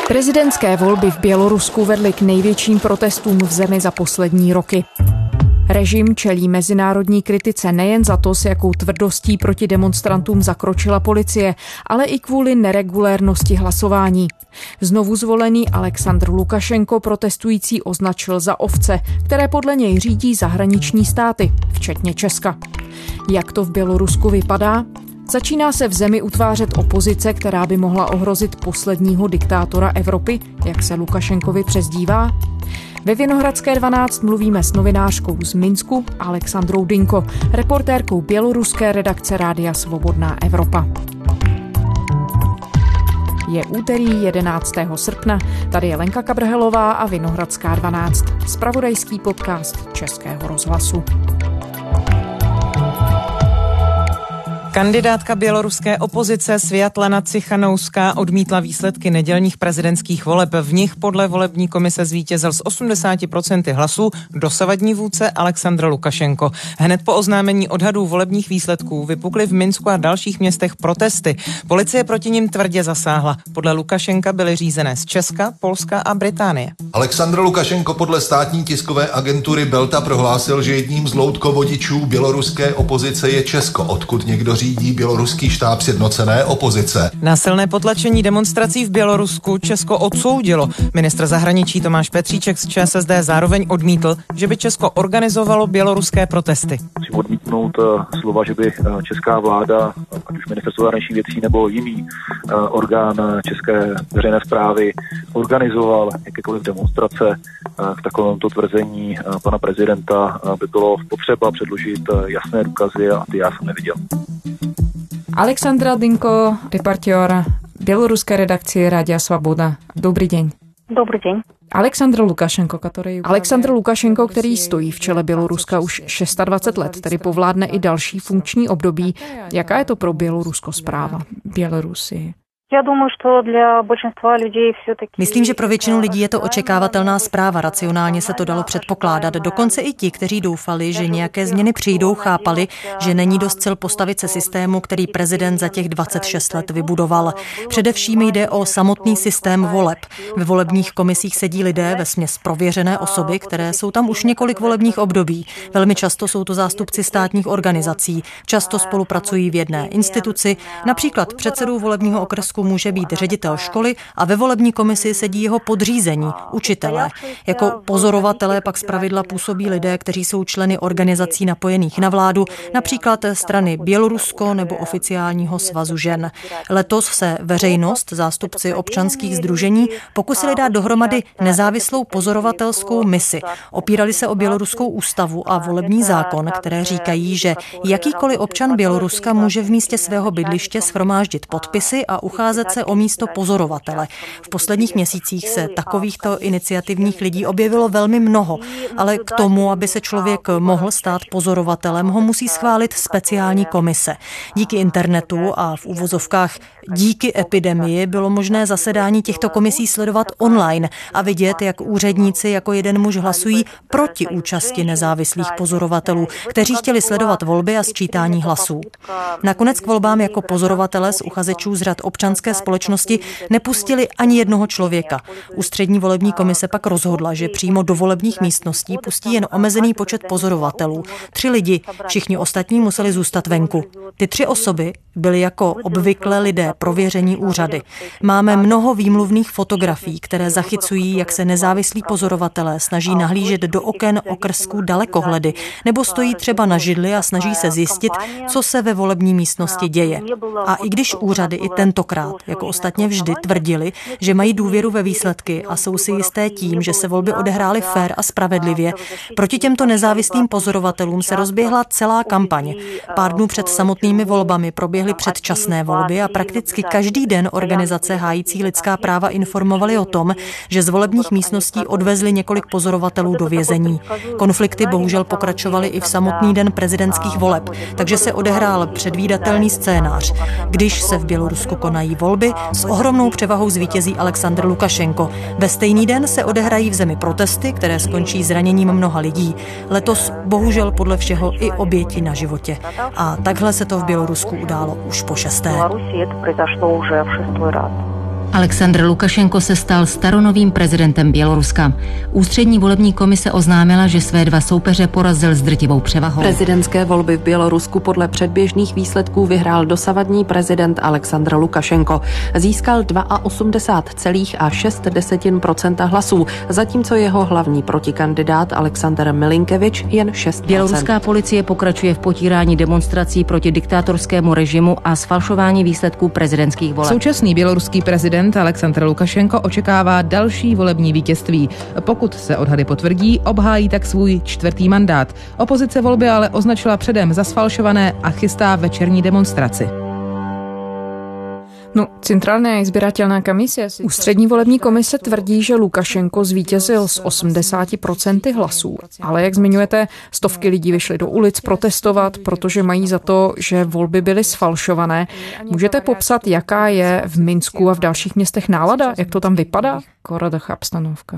Prezidentské volby v Bělorusku vedly k největším protestům v zemi za poslední roky. Režim čelí mezinárodní kritice nejen za to, s jakou tvrdostí proti demonstrantům zakročila policie, ale i kvůli neregulérnosti hlasování. Znovu zvolený Alexandr Lukašenko protestující označil za ovce, které podle něj řídí zahraniční státy, včetně Česka. Jak to v Bělorusku vypadá? Začíná se v zemi utvářet opozice, která by mohla ohrozit posledního diktátora Evropy, jak se Lukašenkovi přezdívá? Ve Vinohradské 12 mluvíme s novinářkou z Minsku Alexandrou Dinko, reportérkou běloruské redakce Rádia Svobodná Evropa. Je úterý 11. srpna, tady je Lenka Kabrhelová a Vinohradská 12, zpravodajský podcast Českého rozhlasu. Kandidátka běloruské opozice Sviatlana Cichanouská odmítla výsledky nedělních prezidentských voleb. V nich podle volební komise zvítězil s 80% hlasů dosavadní vůdce Alexandr Lukašenko. Hned po oznámení odhadů volebních výsledků vypukly v Minsku a dalších městech protesty. Policie proti nim tvrdě zasáhla. Podle Lukašenka byly řízené z Česka, Polska a Británie. Alexandr Lukašenko podle státní tiskové agentury Belta prohlásil, že jedním z loutkovodičů běloruské opozice je Česko, odkud někdo řídí běloruský štáb sjednocené opozice. Násilné potlačení demonstrací v Bělorusku Česko odsoudilo. Ministr zahraničí Tomáš Petříček z ČSSD zároveň odmítl, že by Česko organizovalo běloruské protesty. Musím odmítnout slova, že by česká vláda, ať už ministerstvo zahraničních věcí nebo jiný orgán české veřejné správy organizoval jakékoliv demonstrace. K takovémuto tvrzení pana prezidenta by bylo potřeba předložit jasné důkazy a ty já jsem neviděl. Alexandra Dinko, reportér běloruské redakcie Rádia Svoboda. Dobrý den. Dobrý den. Alexandr Lukašenko, který stojí v čele Běloruska už 26 let, tedy povládne i další funkční období. Jaká je to pro Bělorusko zpráva? Bělorusy. Myslím, že pro většinu lidí je to očekávatelná zpráva. Racionálně se to dalo předpokládat. Dokonce i ti, kteří doufali, že nějaké změny přijdou, chápali, že není dost sil postavit se systému, který prezident za těch 26 let vybudoval. Především jde o samotný systém voleb. Ve volebních komisích sedí lidé, vesměs prověřené osoby, které jsou tam už několik volebních období. Velmi často jsou to zástupci státních organizací. Často spolupracují v jedné instituci. Například předsedou volebního okrsku může být ředitel školy a ve volební komisi sedí jeho podřízení, učitelé. Jako pozorovatelé pak zpravidla působí lidé, kteří jsou členy organizací napojených na vládu, například strany Bělorusko nebo oficiálního svazu žen. Letos se veřejnost, zástupci občanských sdružení, pokusili dát dohromady nezávislou pozorovatelskou misi. Opírali se o běloruskou ústavu a volební zákon, které říkají, že jakýkoliv občan Běloruska může v místě svého bydliště shromáždit podpisy a ucházet se o místo pozorovatele. V posledních měsících se takovýchto iniciativních lidí objevilo velmi mnoho, ale k tomu, aby se člověk mohl stát pozorovatelem, ho musí schválit speciální komise. Díky internetu a v uvozovkách díky epidemii bylo možné zasedání těchto komisí sledovat online a vidět, jak úředníci jako jeden muž hlasují proti účasti nezávislých pozorovatelů, kteří chtěli sledovat volby a sčítání hlasů. Nakonec k volbám jako pozorovatelé z uchazečů z řad občanské společnosti nepustili ani jednoho člověka. Ústřední volební komise pak rozhodla, že přímo do volebních místností pustí jen omezený počet pozorovatelů. 3 lidi, všichni ostatní museli zůstat venku. Ty 3 osoby byly jako obvykle lidé prověření úřady. Máme mnoho výmluvných fotografií, které zachycují, jak se nezávislí pozorovatelé snaží nahlížet do oken okrsků dalekohledy, nebo stojí třeba na židli a snaží se zjistit, co se ve volební místnosti děje. A i když úřady i tentokrát, jako ostatně vždy, tvrdili, že mají důvěru ve výsledky a jsou si jisté tím, že se volby odehrály fér a spravedlivě, proti těmto nezávislým pozorovatelům se rozběhla celá kampaň. Pár dnů před samotnými volbami proběhly předčasné volby a prakticky každý den organizace hájící lidská práva informovaly o tom, že z volebních místností odvezli několik pozorovatelů do vězení. Konflikty bohužel pokračovaly i v samotný den prezidentských voleb, takže se odehrál předvídatelný scénář. Když se v Bělorusku konají volby, s ohromnou převahou zvítězí Alexandr Lukašenko. Ve stejný den se odehrají v zemi protesty, které skončí zraněním mnoha lidí. Letos bohužel podle všeho i oběti na životě. A takhle se to v Bělorusku událo už po 6. Aleksandr Lukašenko se stal staronovým prezidentem Běloruska. Ústřední volební komise oznámila, že své dva soupeře porazil s drtivou převahou. Prezidentské volby v Bělorusku podle předběžných výsledků vyhrál dosavadní prezident Aleksandr Lukašenko. Získal 82,6% hlasů, zatímco jeho hlavní protikandidát Aleksandr Milinkevič jen 6%. Běloruská policie pokračuje v potírání demonstrací proti diktátorskému režimu a sfalšování výsledků prezidentských voleb. Současný běloruský prezident Aleksandr Lukašenko očekává další volební vítězství. Pokud se odhady potvrdí, obhájí tak svůj 4. mandát. Opozice volby ale označila předem za sfalšované a chystá večerní demonstraci. Centrálna izbiratelná komise. Ústřední volební komise tvrdí, že Lukašenko zvítězil s 80% hlasů. Ale jak zmiňujete, stovky lidí vyšly do ulic protestovat, protože mají za to, že volby byly sfalšované. Můžete popsat, jaká je v Minsku a v dalších městech nálada? Jak to tam vypadá? Koradach obstanovka.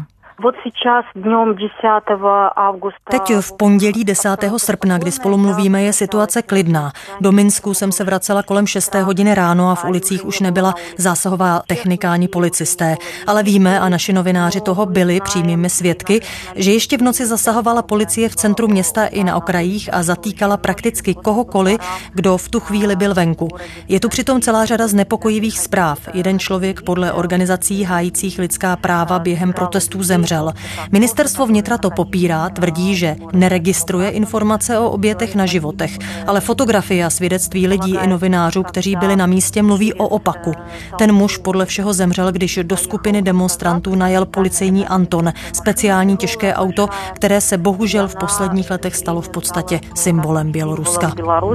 Teď v pondělí 10. srpna, kdy spolu mluvíme, je situace klidná. Do Minsku jsem se vracela kolem 6. hodiny ráno a v ulicích už nebyla zásahová technika ani policisté. Ale víme, a naši novináři toho byli přímými svědky, že ještě v noci zasahovala policie v centru města i na okrajích a zatýkala prakticky kohokoliv, kdo v tu chvíli byl venku. Je tu přitom celá řada znepokojivých zpráv. Jeden člověk podle organizací hájících lidská práva během protestů zemřel. Ministerstvo vnitra to popírá, tvrdí, že neregistruje informace o obětech na životech, ale fotografie a svědectví lidí i novinářů, kteří byli na místě, mluví o opaku. Ten muž podle všeho zemřel, když do skupiny demonstrantů najel policejní Anton, speciální těžké auto, které se bohužel v posledních letech stalo v podstatě symbolem Běloruska.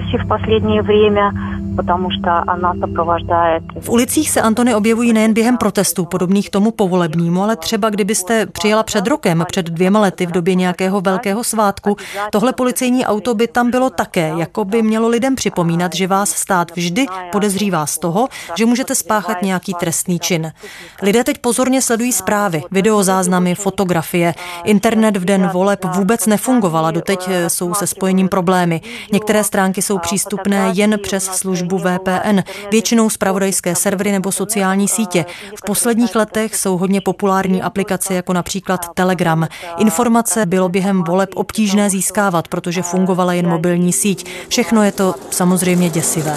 V ulicích se Antony objevují nejen během protestů podobných tomu povolebnímu, ale třeba kdybyste přijela před rokem, před 2 lety v době nějakého velkého svátku, tohle policejní auto by tam bylo také, jako by mělo lidem připomínat, že vás stát vždy podezřívá z toho, že můžete spáchat nějaký trestný čin. Lidé teď pozorně sledují zprávy, videozáznamy, fotografie. Internet v den voleb vůbec nefungovala, doteď jsou se spojením problémy. Některé stránky jsou přístupné jen přes službu VPN, většinou zpravodajské servery nebo sociální sítě. V posledních letech jsou hodně populární aplikace jako například Telegram. Informace bylo během voleb obtížné získávat, protože fungovala jen mobilní síť. Všechno je to samozřejmě děsivé.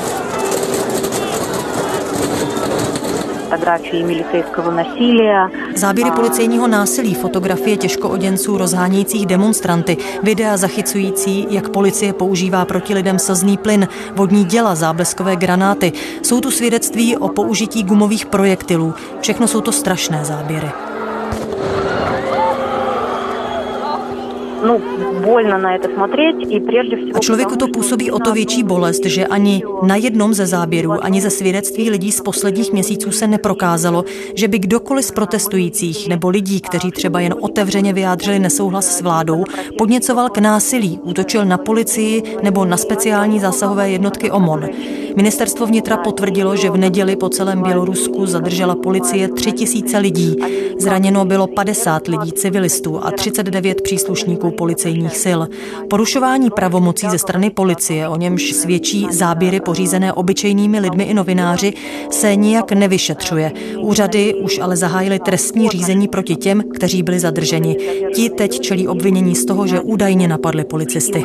Záběry policejního násilí, fotografie těžkooděnců rozhánějících demonstranty, videa zachycující, jak policie používá proti lidem slzný plyn, vodní děla, zábleskové granáty. Jsou tu svědectví o použití gumových projektilů. Všechno jsou to strašné záběry. A člověku to působí o to větší bolest, že ani na jednom ze záběrů, ani ze svědectví lidí z posledních měsíců se neprokázalo, že by kdokoliv z protestujících nebo lidí, kteří třeba jen otevřeně vyjádřili nesouhlas s vládou, podněcoval k násilí, útočil na policii nebo na speciální zásahové jednotky OMON. Ministerstvo vnitra potvrdilo, že v neděli po celém Bělorusku zadržela policie 3000 lidí. Zraněno bylo 50 lidí civilistů a 39 příslušníků policejních sil. Porušování pravomocí ze strany policie, o němž svědčí záběry pořízené obyčejnými lidmi i novináři, se nijak nevyšetřuje. Úřady už ale zahájily trestní řízení proti těm, kteří byli zadrženi. Ti teď čelí obvinění z toho, že údajně napadli policisty.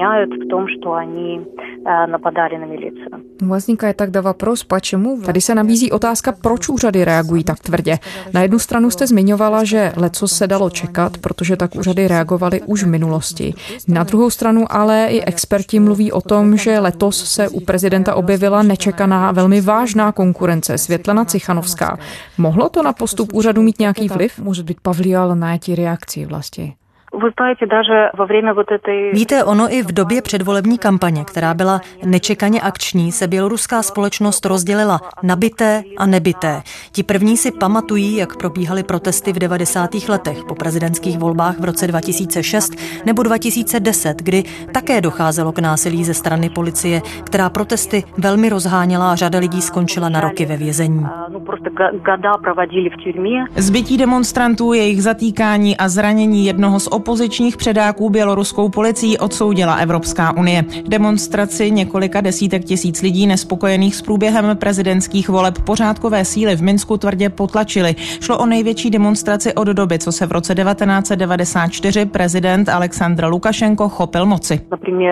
Возникает je тогда вопрос, почему? Tady se nabízí otázka, proč úřady reagují tak tvrdě. Na jednu stranu jste zmiňovala, že lecos se dalo čekat, protože tak úřady reagovaly už v minulosti. Na druhou stranu ale i experti mluví o tom, že letos se u prezidenta objevila nečekaná velmi vážná konkurence, Světlana Cichanovská. Mohlo to na postup úřadu mít nějaký vliv? Může být povlivalo na ty reakci vlastně. Víte, ono i v době předvolební kampaně, která byla nečekaně akční, se běloruská společnost rozdělila na bité a nebité. Ti první si pamatují, jak probíhaly protesty v 90. letech po prezidentských volbách v roce 2006 nebo 2010, kdy také docházelo k násilí ze strany policie, která protesty velmi rozháněla a řada lidí skončila na roky ve vězení. Zbytí demonstrantů, jejich zatýkání a zranění jednoho z opozičních předáků běloruskou policií odsoudila Evropská unie. Demonstraci několika desítek tisíc lidí nespokojených s průběhem prezidentských voleb pořádkové síly v Minsku tvrdě potlačily. Šlo o největší demonstraci od doby, co se v roce 1994 prezident Alexandr Lukašenko chopil moci.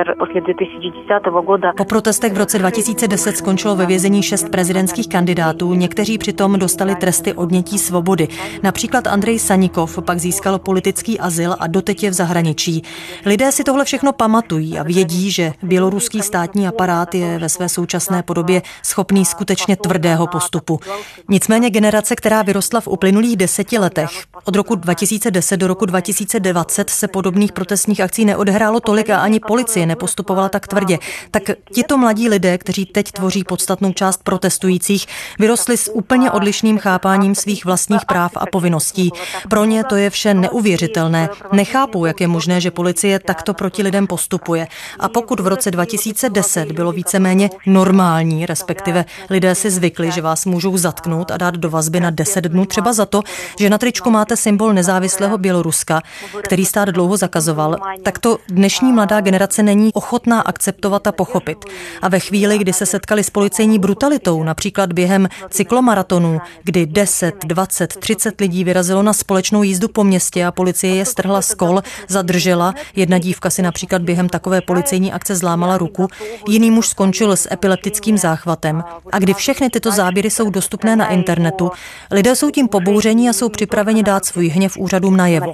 Po protestech v roce 2010 skončilo ve vězení 6 prezidentských kandidátů, někteří přitom dostali tresty odnětí svobody. Například Andrej Sanikov pak získal politický azyl a doteď je v zahraničí. Lidé si tohle všechno pamatují a vědí, že běloruský státní aparát je ve své současné podobě schopný skutečně tvrdého postupu. Nicméně generace, která vyrostla v uplynulých 10 letech, od roku 2010 do roku 2020 se podobných protestních akcí neodehrálo tolik a ani policie nepostupovala tak tvrdě. Tak tito mladí lidé, kteří teď tvoří podstatnou část protestujících, vyrostli s úplně odlišným chápáním svých vlastních práv a povinností. Pro ně to je vše neuvěřitelné. Nechápou, jak je možné, že policie takto proti lidem postupuje. A pokud v roce 2010 bylo víceméně normální, respektive lidé si zvykli, že vás můžou zatknout a dát do vazby na 10 dnů třeba za to, že na tričku máte symbol nezávislého Běloruska, který stát dlouho zakazoval, tak to dnešní mladá generace není ochotná akceptovat a pochopit. A ve chvíli, kdy se setkali s policejní brutalitou, například během cyklomaratonů, kdy 10, 20, 30 lidí vyrazilo na společnou jízdu po městě a policie je strhla z kol, zadržela, jedna dívka si například během takové policejní akce zlámala ruku, jiný muž skončil s epileptickým záchvatem. A kdy všechny tyto záběry jsou dostupné na internetu, lidé jsou tím pobouření a jsou připraveni dát svůj hněv úřadům najevo.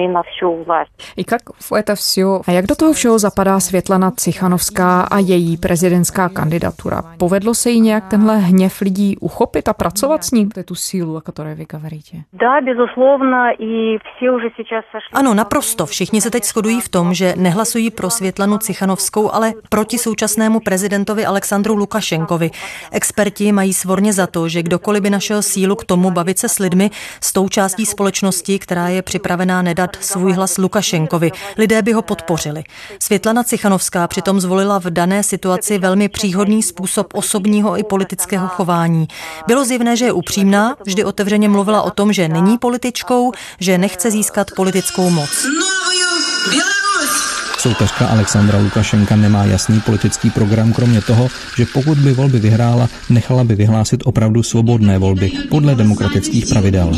A jak do toho všeho zapadá Světlana Cichanovská a její prezidentská kandidatura? Povedlo se jí nějak tenhle hněv lidí uchopit a pracovat s ním? To je tu sílu, o které vy hovoríte. Ano, naprosto. Všichni se teď shodují v tom, že nehlasují pro Světlanu Cichanovskou, ale proti současnému prezidentovi Alexandru Lukašenkovi. Experti mají svorně za to, že kdokoliv by našel sílu k tomu bavit se s lidmi, s tou částí společnosti, která je připravená nedat svůj hlas Lukašenkovi, lidé by ho podpořili. Světlana Cichanovská přitom zvolila v dané situaci velmi příhodný způsob osobního i politického chování. Bylo zjevné, že je upřímná, vždy otevřeně mluvila o tom, že není političkou, že nechce získat politickou moc. Soupeřka Alexandra Lukašenka nemá jasný politický program, kromě toho, že pokud by volby vyhrála, nechala by vyhlásit opravdu svobodné volby podle demokratických pravidel.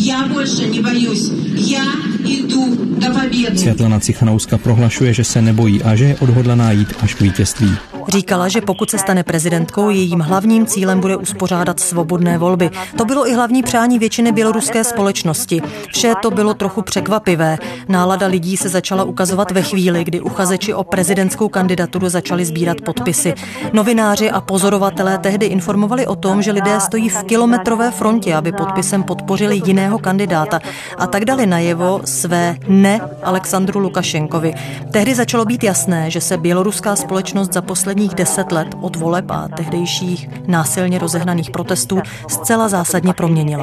Světlana Cichanovská prohlašuje, že se nebojí a že je odhodlaná jít až k vítězství. Říkala, že pokud se stane prezidentkou, jejím hlavním cílem bude uspořádat svobodné volby. To bylo i hlavní přání většiny běloruské společnosti. Vše to bylo trochu překvapivé. Nálada lidí se začala ukazovat ve chvíli, kdy uchazeči o prezidentskou kandidaturu začali sbírat podpisy. Novináři a pozorovatelé tehdy informovali o tom, že lidé stojí v kilometrové frontě, aby podpisem podpořili jiného kandidáta a tak dali najevo své ne Alexandru Lukašenkovi. Tehdy začalo být jasné, že se běloruská společnost za posledních 10 let od voleb a tehdejších násilně rozehnaných protestů zcela zásadně proměnila.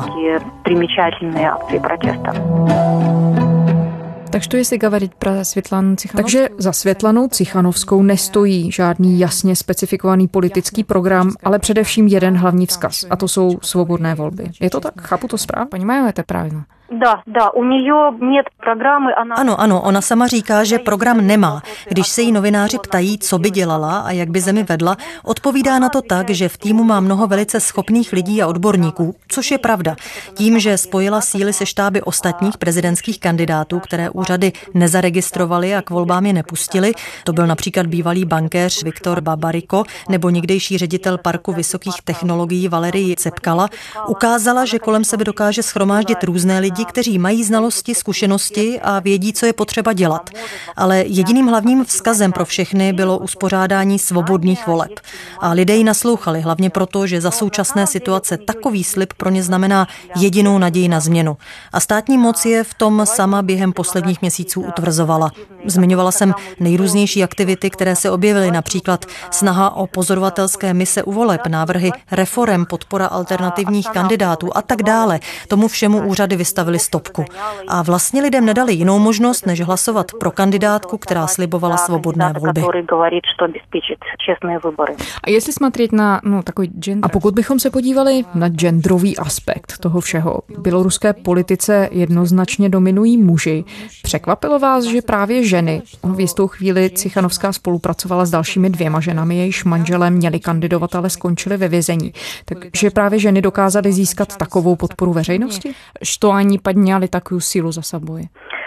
Takže to jestli говорить pro Světlanu Cichanovskou. Takže za Světlanou Cichanovskou nestojí žádný jasně specifikovaný politický program, ale především jeden hlavní vzkaz, a to jsou svobodné volby. Je to tak? Chápu to správně? Понимаю это правильно? Ano, ona sama říká, že program nemá. Když se jí novináři ptají, co by dělala a jak by zemi vedla, odpovídá na to tak, že v týmu má mnoho velice schopných lidí a odborníků, což je pravda. Tím, že spojila síly se štáby ostatních prezidentských kandidátů, které úřady nezaregistrovali a k volbám je nepustili, to byl například bývalý bankéř Viktor Babariko nebo někdejší ředitel Parku vysokých technologií Valerii Cepkala, ukázala, že kolem sebe dokáže shromáždit různé lidi, kteří mají znalosti, zkušenosti a vědí, co je potřeba dělat. Ale jediným hlavním vzkazem pro všechny bylo uspořádání svobodných voleb. A lidé jí naslouchali, hlavně proto, že za současné situace takový slib pro ně znamená jedinou naději na změnu. A státní moc je v tom sama během posledních měsíců utvrzovala. Zmiňovala jsem nejrůznější aktivity, které se objevily, například snaha o pozorovatelské mise u voleb, návrhy reforem, podpora alternativních kandidátů a tak dále. Tomu všemu úřady vystavili stopku. A vlastně lidem nedali jinou možnost, než hlasovat pro kandidátku, která slibovala svobodné volby. A jestli смотреть na takový gender. A pokud bychom se podívali na genderový aspekt toho všeho, v běloruské politice jednoznačně dominují muži. Překvapilo vás, že právě ženy, v jistou chvíli Cichanovská spolupracovala s dalšími 2 ženami, jejichž manželé měli kandidovat, ale skončili ve vězení. Takže právě ženy dokázaly získat takovou podporu veřejnosti? Što ani podňali takovou sílu za sebou?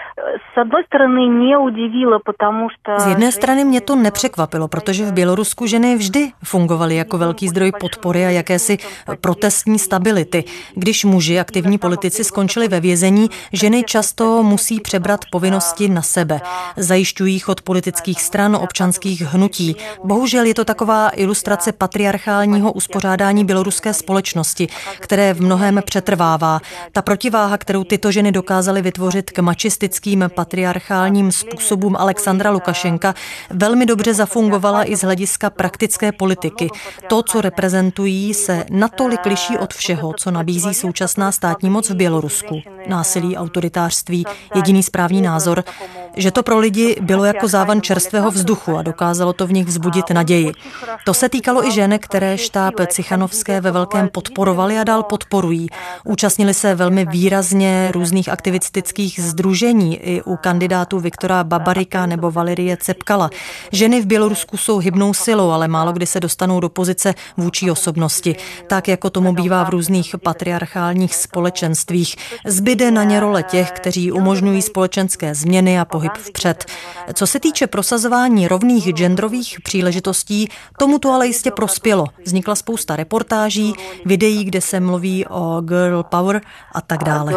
Z jedné strany mě to nepřekvapilo, protože v Bělorusku ženy vždy fungovaly jako velký zdroj podpory a jakési protestní stability. Když muži, aktivní politici, skončili ve vězení, ženy často musí přebrat povinnosti na sebe. Zajišťují chod politických stran, občanských hnutí. Bohužel je to taková ilustrace patriarchálního uspořádání běloruské společnosti, které v mnohém přetrvává. Ta protiváha, kterou tyto ženy dokázaly vytvořit k mačistickým patriarchálním způsobům Alexandra Lukašenka, velmi dobře zafungovala i z hlediska praktické politiky. To, co reprezentují, se natolik liší od všeho, co nabízí současná státní moc v Bělorusku. Násilí, autoritářství, jediný správný názor, že to pro lidi bylo jako závan čerstvého vzduchu a dokázalo to v nich vzbudit naději. To se týkalo i žen, které štáb Cichanovské ve velkém podporovali a dál podporují. Účastnili se velmi výrazně různých aktivistických sdružení i u kandidátů Viktora Babarika nebo Valerie Cepkala. Ženy v Bělorusku jsou hybnou silou, ale málo kdy se dostanou do pozice vůči osobnosti. Tak jako tomu bývá v různých patriarchálních společenstvích. Zbyde na ně role těch, kteří umožňují společenské změny a pohyb vpřed. Co se týče prosazování rovných genderových příležitostí, tomu to ale jistě prospělo. Vznikla spousta reportáží, videí, kde se mluví o girl power a tak dále.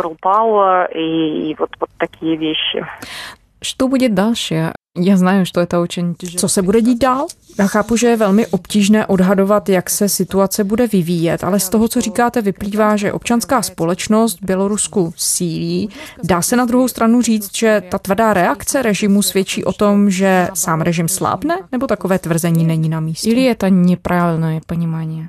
Что будет дальше? Já znám, že to je to очень těžké. Co se bude dít dál? Já chápu, že je velmi obtížné odhadovat, jak se situace bude vyvíjet, ale z toho, co říkáte, vyplývá, že občanská společnost v Bělorusku sílí. Dá se na druhou stranu říct, že ta tvrdá reakce režimu svědčí o tom, že sám režim slábne, nebo takové tvrzení není na místě? Ili je to nepravильné ponímání?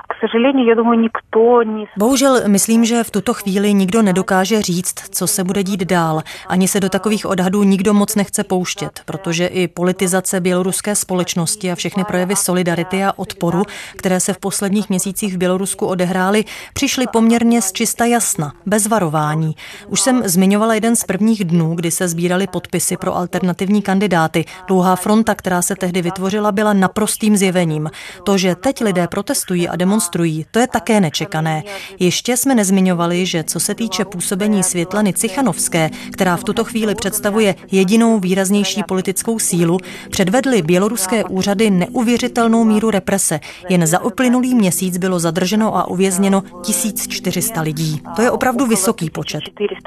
Bohužel myslím, že v tuto chvíli nikdo nedokáže říct, co se bude dít dál. Ani se do takových odhadů nikdo moc nechce pouštět, protože i politizace běloruské společnosti a všechny projevy solidarity a odporu, které se v posledních měsících v Bělorusku odehrály, přišly poměrně z čista jasna, bez varování. Už jsem zmiňovala jeden z prvních dnů, kdy se sbíraly podpisy pro alternativní kandidáty. Dlouhá fronta, která se tehdy vytvořila, byla naprostým zjevením. To, že teď lidé protestují a demonstrují, to je také nečekané. Ještě jsme nezmiňovali, že co se týče působení Světlany Cichanovské, která v tuto chvíli představuje jedinou výraznější politickou sílu, předvedly běloruské úřady neuvěřitelnou míru represe. Jen za uplynulý měsíc bylo zadrženo a uvězněno 1400 lidí. To je opravdu vysoký počet.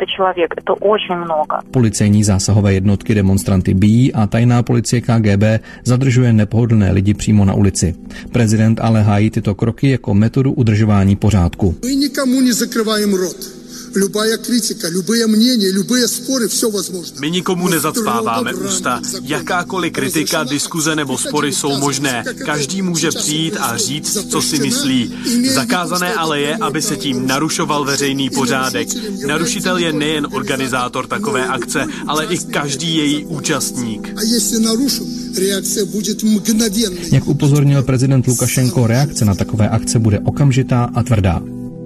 Policejní zásahové jednotky demonstranty bijí a tajná policie KGB zadržuje nepohodlné lidi přímo na ulici. Prezident ale hájí tyto kroky jako metodu udržování pořádku. My nikomu nezakrýváme rot. Любая kritika, любые мнения, любые spory, все возможно. My nikomu nezacpáváme ústa. Jakákoliv kritika, diskuze nebo spory jsou možné. Každý může přijít a říct, co si myslí. Zakázané ale je, aby se tím narušoval veřejný pořádek. Narušitel je nejen organizátor takové akce, ale i každý její účastník. A jestli narušu, reakce bude mgnověnná. Jak upozornil prezident Lukašenko, reakce na takové akce bude okamžitá a tvrdá.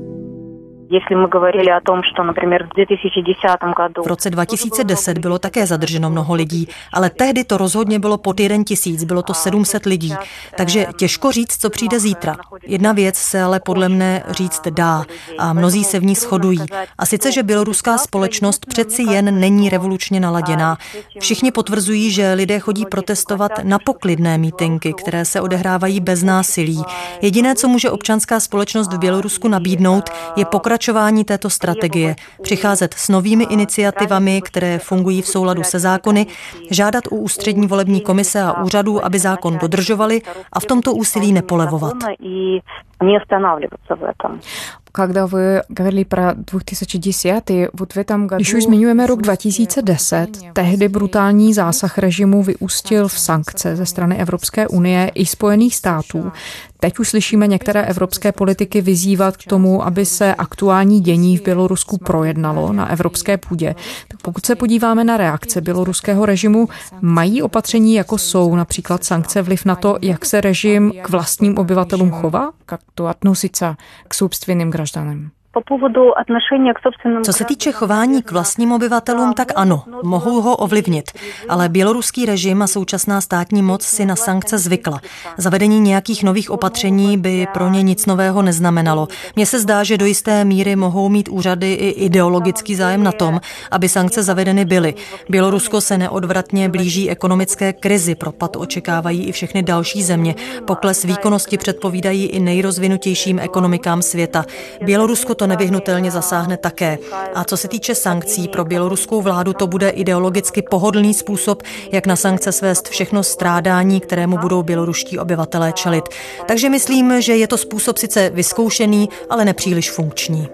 V roce 2010 bylo také zadrženo mnoho lidí, ale tehdy to rozhodně bylo pod 1000, bylo to 700 lidí. Takže těžko říct, co přijde zítra. Jedna věc se ale podle mne říct dá a mnozí se v ní shodují. A sice, že běloruská společnost přeci jen není revolučně naladěná. Všichni potvrzují, že lidé chodí protestovat na poklidné mítinky, které se odehrávají bez násilí. Jediné, co může občanská společnost v Bělorusku nabídnout, je pokračování této strategie, přicházet s novými iniciativami, které fungují v souladu se zákony, žádat u ústřední volební komise a úřadů, aby zákon dodržovali a v tomto úsilí nepolevovat. Когда вы говорили про 2010, вот в этом году... Když už zmiňujeme rok 2010, tehdy brutální zásah režimu vyústil v sankce ze strany Evropské unie i Spojených států. Teď už slyšíme některé evropské politiky vyzývat k tomu, aby se aktuální dění v Bělorusku projednalo na evropské půdě. Tak pokud se podíváme na reakce běloruského režimu, mají opatření, jako jsou například sankce, vliv na to, jak se režim k vlastním obyvatelům chová? Jak to относится k собственным гражданам? Co se týče chování k vlastním obyvatelům, tak ano, mohou ho ovlivnit. Ale běloruský režim a současná státní moc si na sankce zvykla. Zavedení nějakých nových opatření by pro ně nic nového neznamenalo. Mně se zdá, že do jisté míry mohou mít úřady i ideologický zájem na tom, aby sankce zavedeny byly. Bělorusko se neodvratně blíží ekonomické krizi, propad očekávají i všechny další země. Pokles výkonnosti předpovídají i nejrozvinutějším ekonomikám světa. Bělorusko to nevyhnutelně zasáhne také. A co se týče sankcí, pro běloruskou vládu to bude ideologicky pohodlný způsob, jak na sankce svést všechno strádání, kterému budou běloruští obyvatelé čelit. Takže myslím, že je to způsob sice vyzkoušený, ale nepříliš funkční.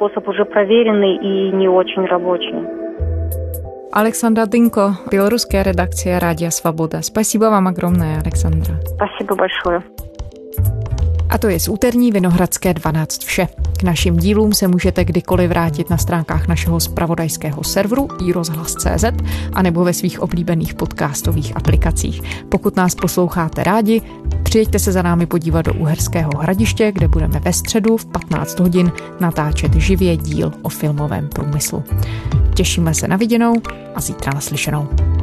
Alexandra Dynko, běloruské redakce Rádia Svoboda. Spasibo vám огромное, Alexandra. Спасибо большое. A to je z úterní Vinohradské 12 vše. K našim dílům se můžete kdykoliv vrátit na stránkách našeho zpravodajského serveru iRozhlas.cz anebo ve svých oblíbených podcastových aplikacích. Pokud nás posloucháte rádi, přijeďte se za námi podívat do Uherského Hradiště, kde budeme ve středu v 15 hodin natáčet živě díl o filmovém průmyslu. Těšíme se na viděnou a zítra naslyšenou.